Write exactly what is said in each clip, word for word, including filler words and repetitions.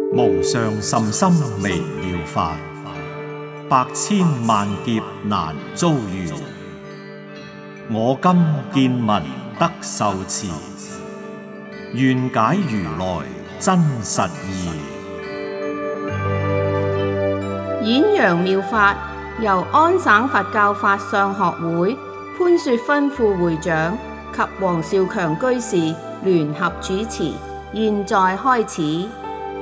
無上甚深微妙法，百千萬劫難遭遇。我今見聞得受持，願解如來真實義。 演揚妙法由安省佛教法相學會潘雪芬副會長及黃少強居士聯合主持，現在開始。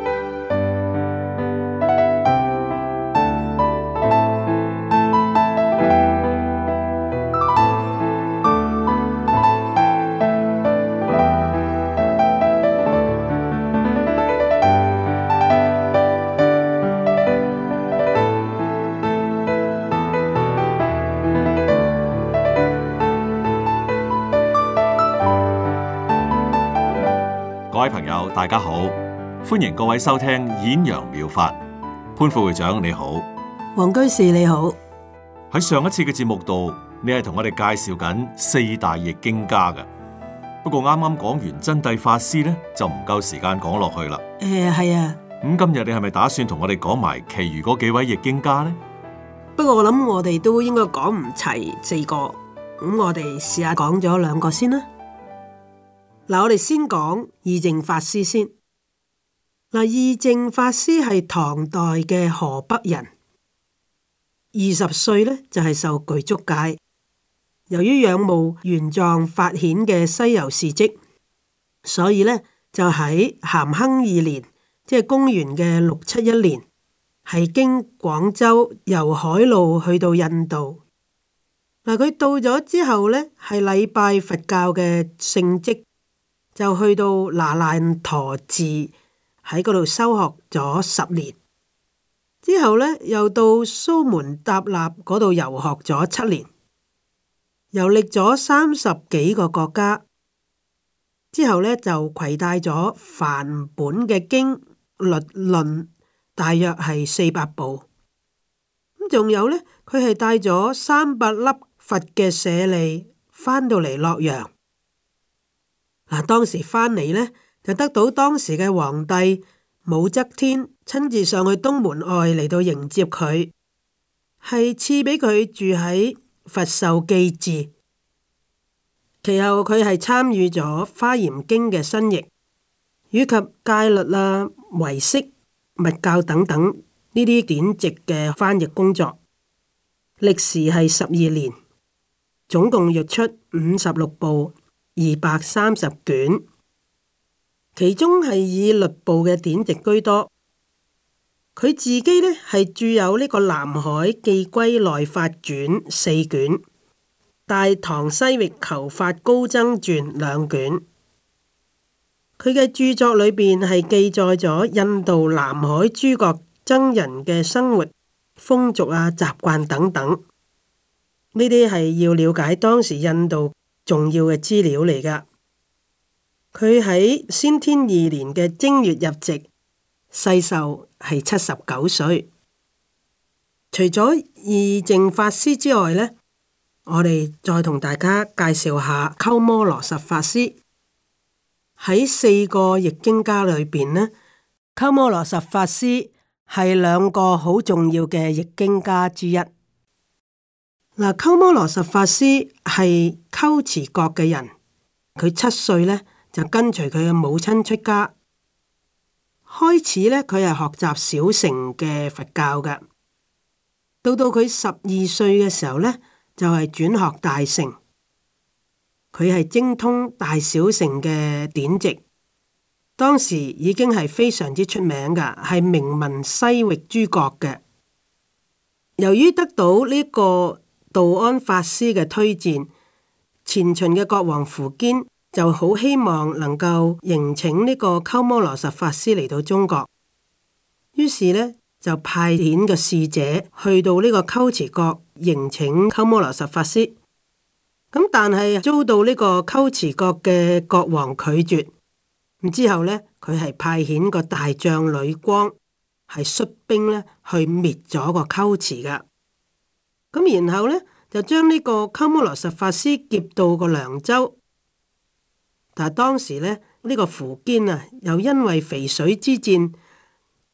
各位朋友，大家好，歡迎各位收聽演揚妙法。潘副會長你好， 黃居士你好。 喺上一次嘅節目度，你係同我哋介紹緊四大譯經家嘅。不過啱啱講完真諦法師咧，就唔夠時間講落去啦。 誒，係啊。 咁今日你係咪打算同我哋講埋其餘嗰幾位譯經家呢？ 不過我諗我哋都應該講唔齊四個，咁我哋試下講咗兩個先啦。嗱，我哋先講義淨法師先。嗱，義淨法師係唐代嘅河北人，二十歲呢就係受具足戒。由於仰慕玄奘法顯嘅西遊事跡，所以呢就喺咸亨二年，即係公元嘅六七一年，係經廣州由海路去到印度。嗱，佢到咗之後呢，係禮拜佛教嘅聖跡。就去到那爛陀寺喺嗰度修學咗十年，之後呢，又到蘇門答臘嗰度遊學咗七年，遊歷咗三十幾個國家，之後呢，就攜帶咗梵本嘅經律論，大約係四百部。咁仲有呢，佢係帶咗三百粒佛嘅舍利翻到嚟洛陽。嗱，當時翻嚟呢，就得到當時嘅皇帝武則天親自上去東門外嚟到迎接佢，係賜俾佢住喺佛壽記寺。其後佢係參與咗《華嚴經》嘅新譯，以及戒律啊、唯識、密教等等呢啲典籍嘅翻譯工作，歷時係十二年，總共譯出五十六部。二百三十卷，其中係以律部嘅典籍居多。佢自己呢係著有呢個《南海寄歸內法卷》四卷，《大唐西域求法高僧傳》兩卷。佢嘅著作裏邊係記載咗印度南海諸國僧人嘅生活風俗啊、習慣等等。呢啲係要了解當時印度重要嘅資料嚟㗎。佢喺先天二年嘅正月入籍，世壽係七十九歲。除咗義淨法師之外呢，我哋再同大家介紹下鳩摩羅什法師。喺四個譯經家裏邊呢，鳩摩羅什法師係兩個好重要嘅譯經家之一。嗱，鳩摩羅什法師係龜茲國嘅人，佢七歲呢就跟隨佢嘅母親出家，開始呢，佢係學習小乘嘅佛教嘅，到到佢十二歲嘅時候呢，就係轉學大乘，佢係精通大小乘嘅典籍，當時已經係非常之出名㗎，係名聞西域諸國嘅。由於得到呢個道安法師嘅推薦，前秦嘅國王苻堅就好希望能夠迎請呢個鳩摩羅什法師嚟到中國，於是呢，就派遣個使者去到呢個龜茲國迎請鳩摩羅什法師。咁但係遭到呢個龜茲國嘅國王拒絕，咁之後呢，佢係派遣個大將呂光係率兵呢去滅咗個龜茲噶。咁然後呢，就將呢個鳩摩羅什法師劫到個涼州，但係當時呢，呢、呢個苻堅啊，又因為淝水之戰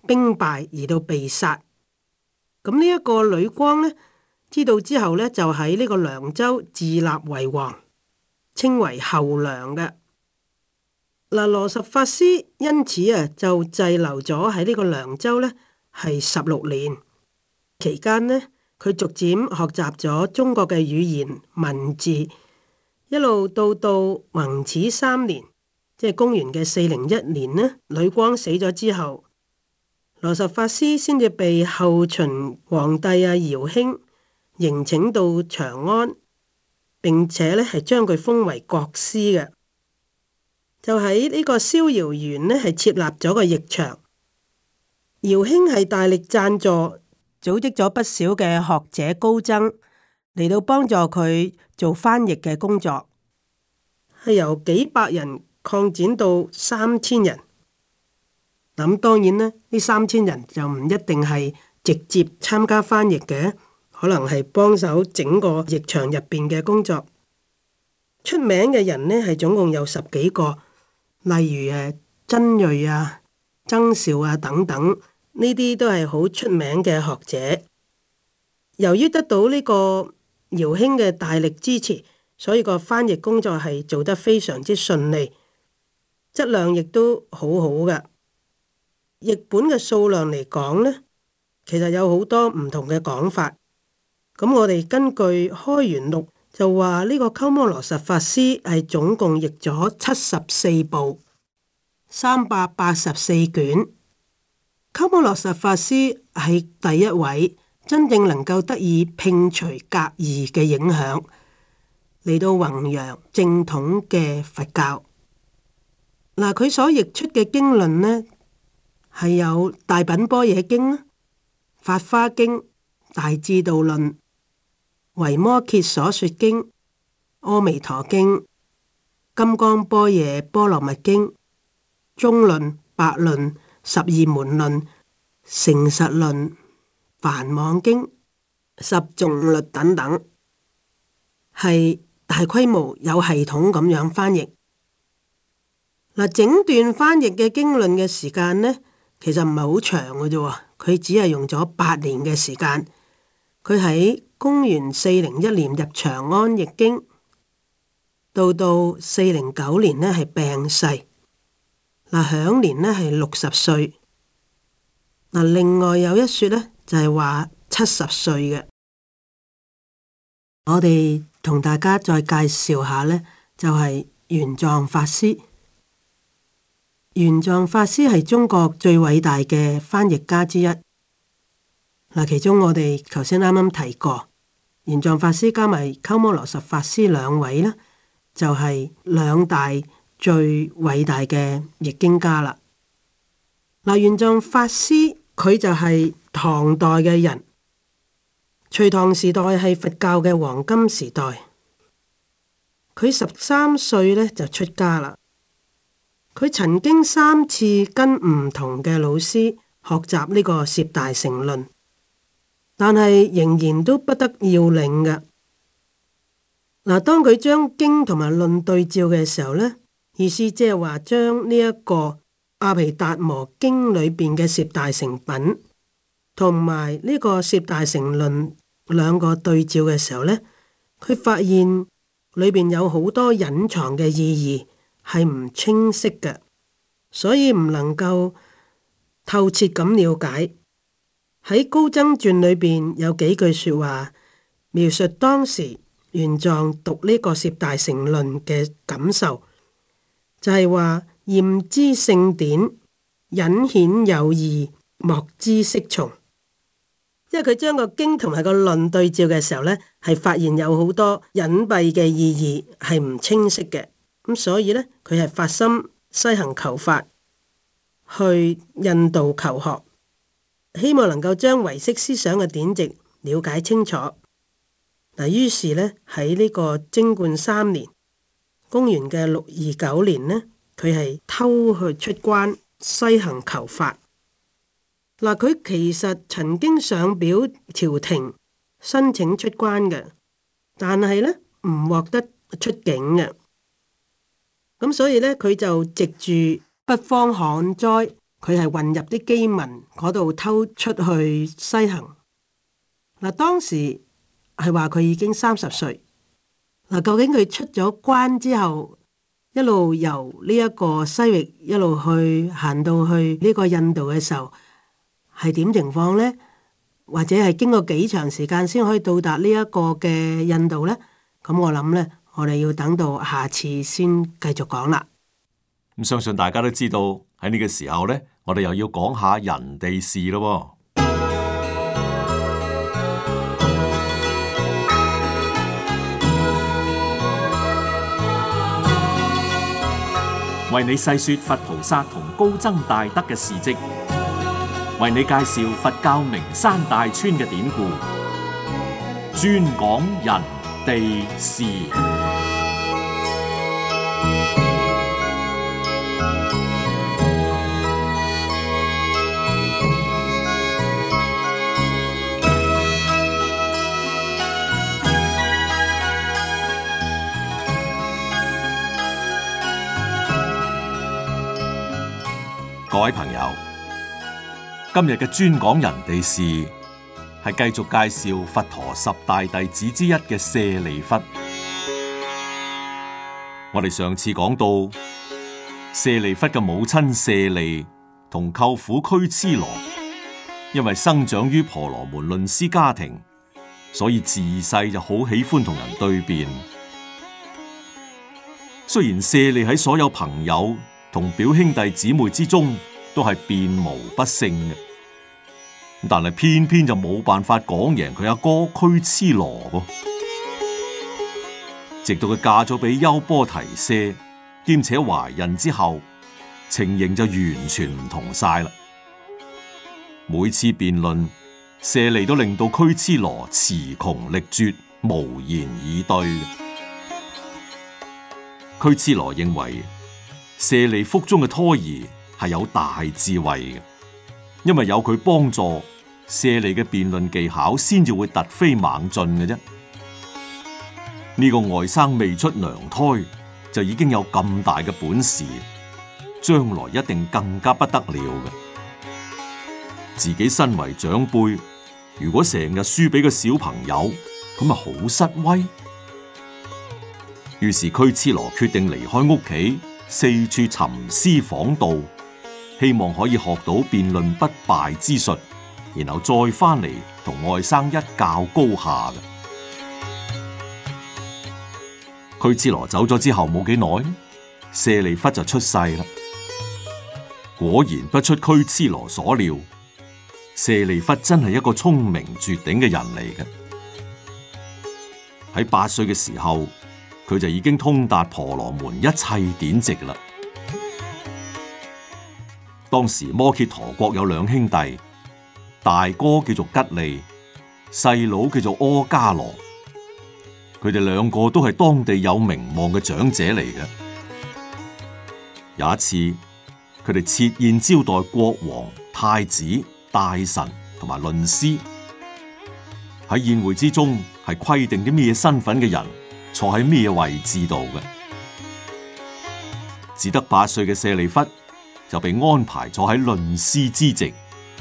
兵敗而到被殺。咁呢一個呂光呢，知道之後呢，就喺呢個涼州自立為王，稱為後涼嘅。嗱，羅什法師因此啊就滯留咗喺呢個涼州呢，係十六年。期間呢，佢逐漸學習咗中國嘅語言文字，一路到到弘始三年，即係公元嘅四零一年呢，呂光死咗之後，羅什法師先至被後秦皇帝啊姚興迎請到長安，並且呢係將佢封為國師嘅。就喺呢個逍遙園呢，係設立咗個譯場。姚興係大力贊助，組織咗不少嘅學者高僧嚟到幫助佢做翻譯嘅工作，係由幾百人擴展到三千人。咁當然呢，呢三千人就唔一定係直接參加翻譯嘅，可能係幫手整個譯場入邊嘅工作。出名嘅人呢，係總共有十幾個。例如誒曾銳啊、曾紹啊等等，呢啲都係好出名嘅學者。由於得到呢個姚興嘅大力支持，所以個翻譯工作係做得非常之順利，質量亦都好好嘅。譯本嘅數量嚟講呢，其實有好多唔同嘅講法。咁我哋根據《開元錄》就話呢個鳩摩羅什法師係總共譯咗七十四部，三百八十四卷。鳩摩羅什法師係第一位真正能夠得以摒除格義嘅影響，嚟到弘揚正統嘅佛教。嗱，佢所譯出嘅經論呢，係有《大品般若經》、《法華經》、《大智度論》、維摩詰所說經、阿彌陀經、金剛般若波羅蜜經、中論、百論、十二門論、成實論、梵網經、十誦律等等，係大規模有系統咁樣翻譯。嗱，整段翻譯嘅經論嘅時間呢，其實唔係好長嘅啫，佢只係用咗八年嘅時間。佢喺公元四零一年入長安譯經，到到四零九年呢係病逝，嗱，享年呢係六十歲。嗱，另外有一說呢，就係話七十歲嘅。我哋同大家再介紹下呢，就係玄奘法師。玄奘法師係中國最偉大嘅翻譯家之一。嗱，其中我哋頭先啱啱提過，玄奘法師加埋鳩摩羅什法師兩位呢，就係兩大最偉大嘅譯經家啦。嗱，玄奘法師佢就係唐代嘅人，隋唐時代係佛教嘅黃金時代。佢十三歲呢就出家啦。佢曾經三次跟唔同嘅老師學習呢個攝大乘論，但係仍然都不得要領嘅。嗱，當佢將經同埋論對照嘅時候呢，意思即係話將呢一個阿毗達摩經裏邊嘅攝大乘品同埋呢個攝大乘論兩個對照嘅時候呢，佢發現裏邊有好多隱藏嘅意義係唔清晰嘅，所以唔能夠透徹咁了解。喺高僧傳裏邊有幾句說話描述當時玄奘讀呢個攝大乘論嘅感受，就係話驗知聖典，隱顯有義，莫知適從。即係佢將個經同埋個論對照嘅時候呢，係發現有好多隱蔽嘅意義係唔清晰嘅。咁所以呢，佢係發心西行求法，去印度求學，希望能夠將唯識思想嘅典籍了解清楚。嗱，於是呢，喺呢個貞觀三年，公元嘅六二九年呢，佢係偷去出關西行求法。嗱，佢其實曾經上表朝廷申請出關嘅，但係呢唔獲得出境嘅。咁所以呢，佢就藉住北方旱災佢係混入啲基民嗰度偷出去西行。嗱，當時係話佢已經三十歲。嗱，究竟佢出咗關之後，一路由呢一個西域一路去行到去呢個印度嘅時候，係點情況呢？或者係經過幾長時間先可以到達呢一個嘅印度呢？咁我諗呢，我哋要等到下次先繼續講啦。 咁相信大家都知道喺呢個時候呢，我哋又要講下人哋事咯。為你細說佛菩薩同高僧大德嘅事跡，為你介紹佛教名山大川嘅典故，專講人地事。各位朋友，今日嘅專講人地事係繼續介紹佛陀十大弟子之一嘅舍利弗。我哋上次講到，舍利弗嘅母親舍利同舅父拘絺羅，因為生長於婆羅門論師家庭，所以自細就好喜歡同人對辯。雖然舍利喺所有朋友同表兄弟姊妹之中都係辯無不勝嘅，但係偏偏就冇辦法講贏佢阿哥拘絺羅噃。直到佢嫁咗俾優波提舍，兼且懷孕之後，情形就完全唔同晒啦。每次辯論，舍利都令到拘絺羅詞窮力絕，無言以對嘅。拘絺羅認為舍利腹中嘅胎兒係有大智慧嘅，因為有佢幫助，舍利嘅辯論技巧先至會突飛猛進嘅啫。呢個外甥未出娘胎就已經有咁大嘅本事，將來一定更加不得了嘅。自己身為長輩，如果成日輸俾個小朋友，咁咪好失威。於是拘絺羅決定離開屋企，四處尋師訪道，希望可以學到辯論不敗之術，然後再翻嚟同外甥一較高下嘅。拘絺羅走咗之後冇幾耐，舍利弗就出世啦。果然不出拘絺羅所料，舍利弗真係一個聰明絕頂嘅人嚟嘅。喺八歲嘅時候，佢就已經通達婆羅門一切典籍啦。當時摩羯陀國有兩兄弟，大哥叫做吉利，細佬叫做阿伽羅。佢哋兩個都係當地有名望嘅長者嚟嘅。有一次，佢哋設宴招待國王、太子、大臣同埋論師。喺宴會之中，係規定啲咩身份嘅人坐喺咩位置度嘅。只得八歲嘅舍利弗就被安排坐喺論師之席。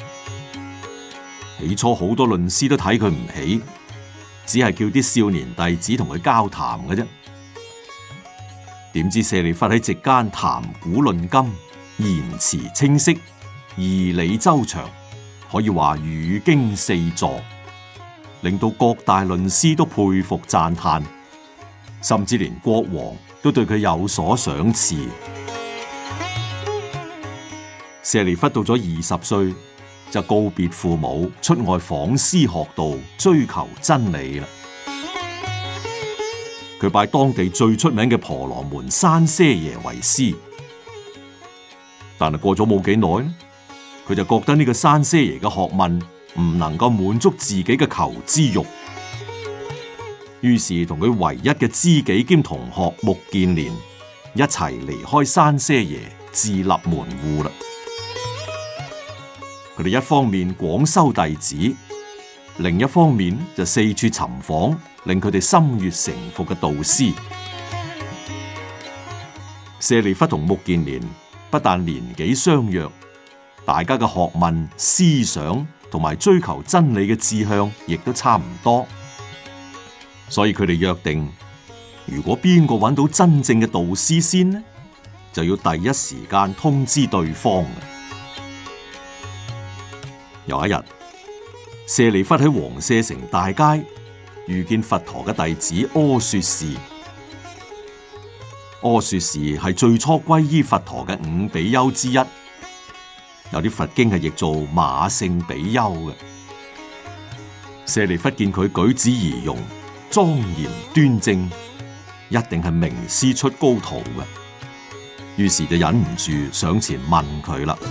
起初好多論師都睇佢唔起，只係叫啲少年弟子同佢交談嘅啫。點知舍利弗喺席間談古論今，言辭清晰，義理周詳，可以話語經四座，令到各大論師都佩服讚嘆，甚至連國王都對佢有所賞賜。舍利弗到咗二十歲，就告別父母，出外訪師學道，追求真理啦。佢拜當地最出名嘅婆羅門山舍耶為師，但係過咗冇幾耐，佢就覺得呢個山舍耶嘅學問唔能夠滿足自己嘅求知欲，於是同佢唯一嘅知己兼同學目犍連一齊離開山舍耶，自立門戶啦。佢哋一方面廣收弟子，另一方面就四處尋訪令佢哋心悅誠服嘅導師。舍利弗同目犍連不但年紀相若， 大家嘅學問、思想同埋追求真理嘅志向亦都差唔多，所以佢哋約定，如果邊個揾到真正嘅導師先呢，就要第一時間通知對方。有一日，舍利弗喺王舍城大街遇見佛陀嘅弟子阿說示。阿說示係最初皈依佛陀嘅五比丘之一，有啲佛經係譯做馬勝比丘嘅。舍利弗見佢舉止儀容莊嚴端正，一定係名師出高徒嘅，於是就忍唔住上前問佢啦。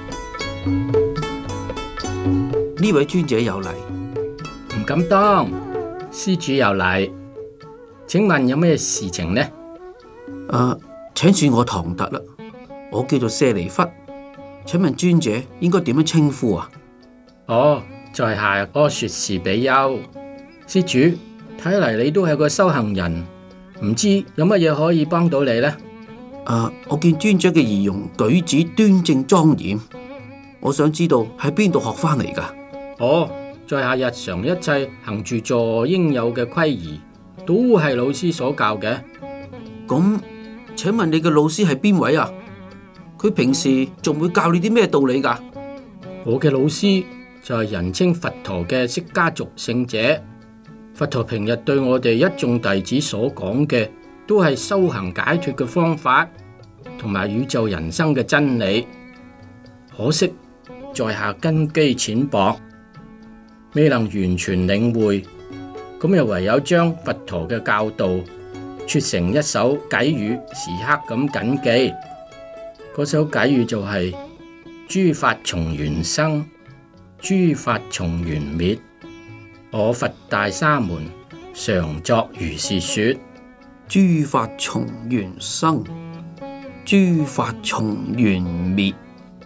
呢位尊者有禮， 唔敢當。施主有禮，請問有咩事情呢？ 誒、啊，請恕我唐突啦，我叫做舍利弗，請問尊者應該點樣稱呼啊？ 哦，在下阿說示比丘。施主，睇嚟你都係個修行人，唔知有乜嘢可以幫到你呢？ 誒、啊，我見尊者嘅儀容舉止端正莊嚴，我想知道喺邊度學翻嚟噶？ 哦，在下日常一切行住坐應有嘅規儀，都係老師所教嘅。 咁，請問你嘅老師係邊位啊？佢平時仲會教你啲咩道理噶？ 我嘅老師就係人稱佛陀嘅釋迦族聖者。佛陀平日對我哋一眾弟子所講嘅，都係修行解脫嘅方法，同埋宇宙人生嘅真理。可惜在下根基淺薄，未能完全領會，咁又唯有將佛陀嘅教導撮成一首偈語，時刻咁謹記。嗰首偈語就係、是：諸法從緣生，諸法從緣滅。我佛大沙門，常作如是說。 諸法從緣生，諸法從緣滅。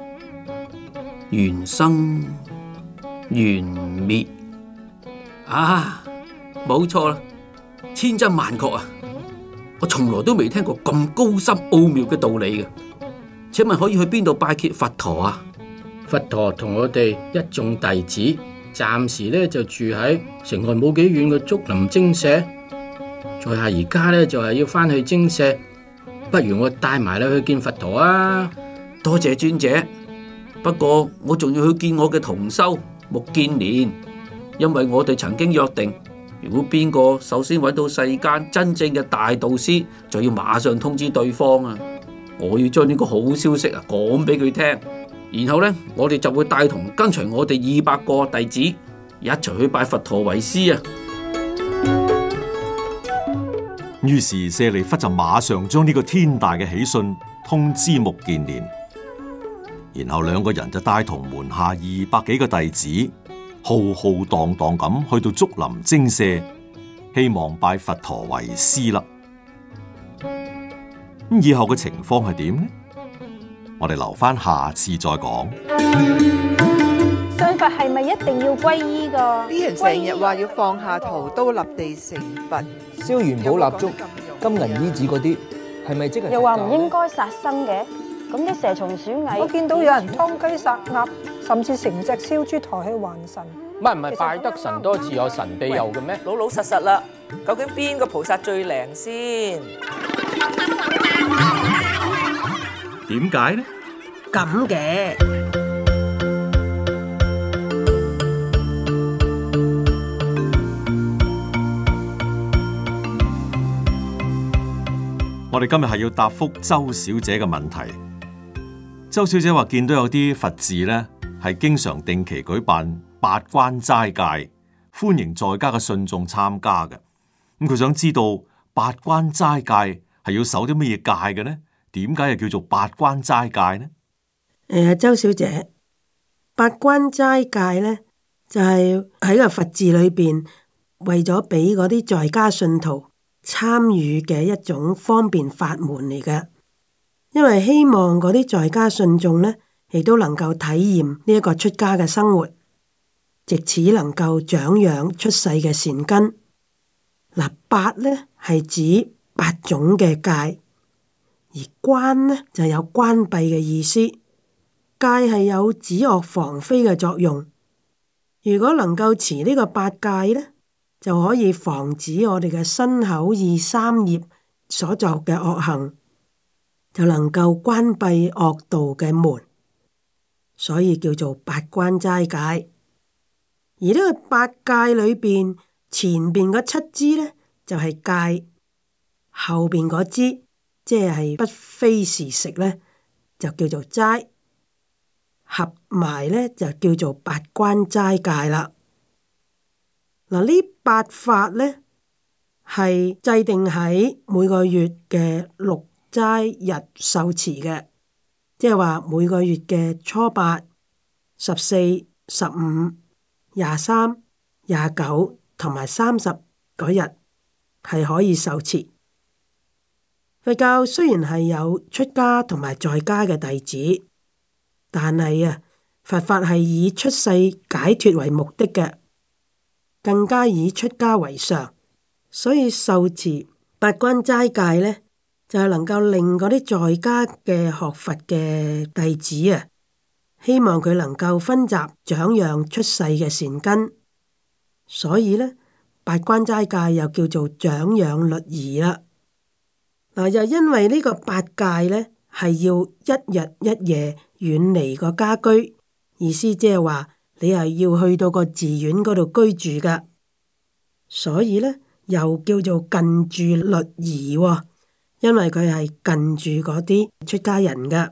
緣生緣滅啊，冇錯啦，千真萬確啊！我從來都未聽過咁高深奧妙嘅道理嘅。請問可以去邊度拜謁佛陀啊？ 佛陀同我哋一眾弟子暫時咧就住喺城外冇幾遠嘅竹林精舍。在下而家咧就係要翻去精舍，不如我帶埋你去見佛陀啊！ 多謝尊者，不過我仲要去見我嘅同修目犍連，因為我哋曾經約定，如果邊個首先揾到世間真正嘅大導師，就要馬上通知對方啊！我要將呢個好消息啊講俾佢聽，然後呢，我哋就會帶同跟隨我哋二百個弟子一齊去拜佛陀為師啊！ 於是舍利弗就馬上將呢個天大嘅喜訊通知目犍連，然後兩個人就帶同門下二百幾個弟子，浩浩蕩蕩咁去到竹林精舍，希望拜佛陀為師啦。咁以後嘅情況係點呢？我哋留翻下，下次再講。 信佛係咪一定要皈依㗎？ 啲人成日話要放下屠刀立地成佛， 燒元寶蠟燭、金銀衣紙嗰啲，係咪即係？ 又話唔應該殺生嘅，咁啲蛇蟲鼠蟻， 我見到有人劏雞殺鴨，甚至成隻燒豬抬去還神。 唔係唔係，拜得神多自有神庇佑嘅咩？ 老老實實啦，究竟邊個菩薩最靈先？ 點解呢？ 咁嘅我哋今日係要答覆周小姐嘅問題。周小姐話見到有啲佛寺呢係經常定期舉辦八關齋戒，歡迎在家嘅信眾參加嘅。咁佢想知道八關齋戒係要守啲乜嘢戒嘅呢？點解又叫做八關齋戒呢？ 誒，周小姐，八關齋戒呢，就係喺個佛寺裏邊，為咗俾嗰啲在家信徒參與嘅一種方便法門嚟嘅。因為希望嗰啲在家信眾呢，亦都能夠體驗呢一個出家嘅生活，藉此能夠長養出世嘅善根。嗱，八呢係指八種嘅戒，而關呢就有關閉嘅意思。 戒係有止惡防非嘅作用。如果能夠持呢個八戒呢，就可以防止我哋嘅身口意三業所作嘅惡行，就能夠關閉惡道嘅門，所以叫做八關齋戒。而呢個八戒裏邊，前邊嗰七支呢，就係戒，後邊嗰支即係不非時食呢，就叫做齋，合埋呢，就叫做八關齋戒啦。嗱，呢八法呢，係制定喺每個月嘅六齋日受持嘅，即係話每個月嘅初八、十四、十五、廿三、廿九同埋三十嗰日係可以受持。佛教雖然係有出家同埋在家嘅弟子，但係啊，佛法係以出世解脫為目的嘅，更加以出家為上，所以受持八關齋戒呢，就係能夠令嗰啲在家嘅學佛嘅弟子啊，希望佢能夠熏習長養出世嘅善根，所以呢，八關齋戒又叫做長養律儀啦。嗱，又因為呢個八戒呢，係要一日一夜遠離個家居，意思即係話你係要去到個寺院嗰度居住噶，所以呢，又叫做近住律儀喎，因為佢係近住嗰啲出家人噶。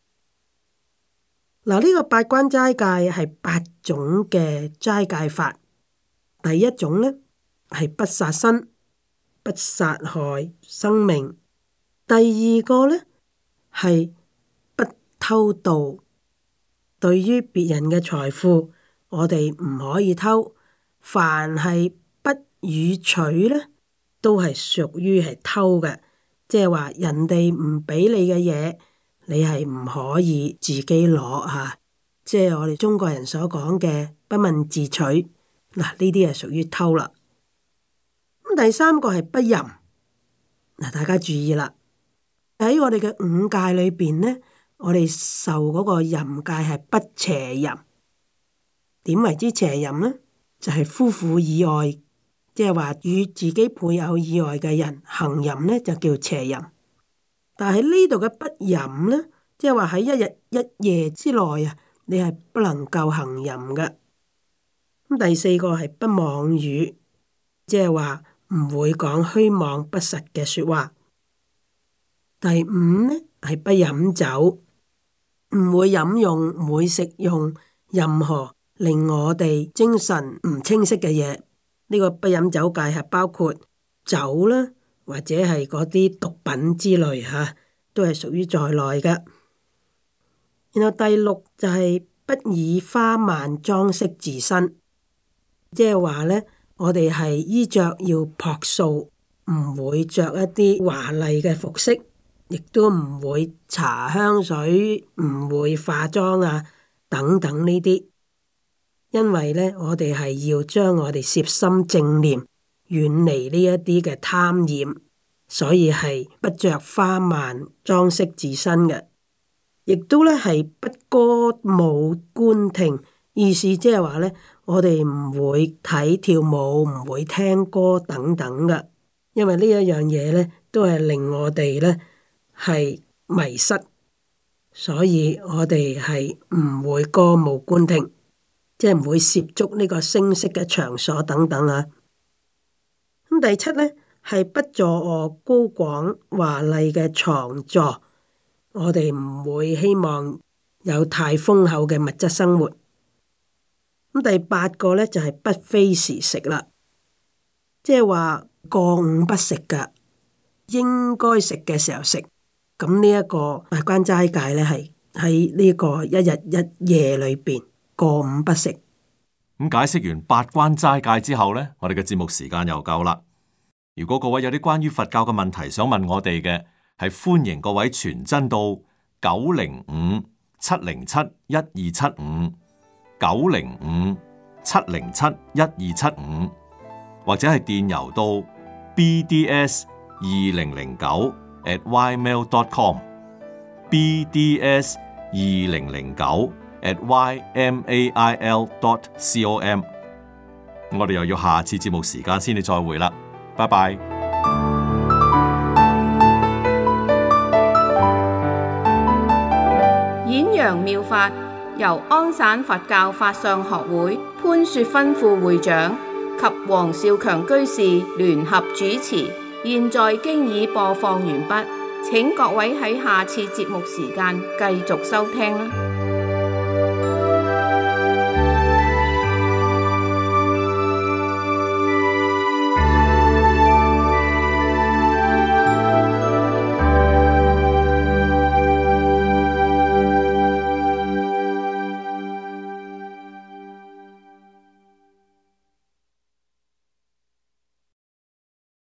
嗱，呢個八關齋戒係八種嘅齋戒法。第一種呢，係不殺生，不殺害生命。第二個呢，係不偷盜。對於別人嘅財富，我哋唔可以偷。凡係不予取呢，都係屬於係偷嘅。即係話人哋唔俾你嘅嘢，你係唔可以自己攞吓。即係我哋中國人所講嘅不問自取。嗱，呢啲係屬於偷啦。咁第三個係不淫。嗱，大家注意啦。喺我哋嘅五戒裏邊呢，我哋受嗰個淫戒係不邪淫。點為之邪淫呢？就係、是、夫婦以外，即係話與自己配偶以外嘅人行淫呢，就叫邪淫。但係呢度嘅不淫呢，即係話喺一日一夜之內啊，你係不能夠行淫嘅。咁第四個係不妄語，即係話唔會講虛妄不實嘅說話。第五呢，係不飲酒，唔會飲用，唔會食用任何令我哋精神唔清晰嘅嘢。呢個不飲酒戒係包括酒啦，或者係嗰啲毒品之類吓，都係屬於在內嘅。然後第六就係不以花蔓裝飾自身，即係話呢，我哋係衣着要樸素，唔會着一啲華麗嘅服飾。亦都唔會搽香水，唔會化妝啊，等等呢啲。因為呢，我哋係要將我哋攝心正念，遠離呢一啲嘅貪染，所以係不着花蔓裝飾自身嘅。亦都呢係不歌舞觀聽，意思即係話呢，我哋唔會睇跳舞，唔會聽歌等等嘅。因為呢一樣嘢呢，都係令我哋呢係迷失，所以我哋係唔會歌舞觀聽，即係唔會涉足呢個聲色嘅場所等等啊。咁第七呢，係不坐臥高廣華麗嘅床座，我哋唔會希望有太豐厚嘅物質生活。咁第八個呢，就係不非時食啦，即係話過午不食噶，應該食嘅時候食。咁呢一個八關齋戒呢，係喺呢個一日一夜裏邊過午不食。 咁解釋完八關齋戒之後呢，我哋嘅節目時間又夠啦。如果各位有啲關於佛教嘅問題想問我哋嘅，係歡迎各位傳真到九零五七零七一二七五九零五七零七一二七五，或者係電郵到 b d s 二零零九 at ymail dot com b d s 二零零九 at y m a i l dot com。我哋又要下次節目時間先至再會啦，拜拜。 演揚妙法由安省佛教法相學會潘雪芬副會長及黃少強居士聯合主持，現在經已播放完畢，請各位喺下次節目時間繼續收聽啦。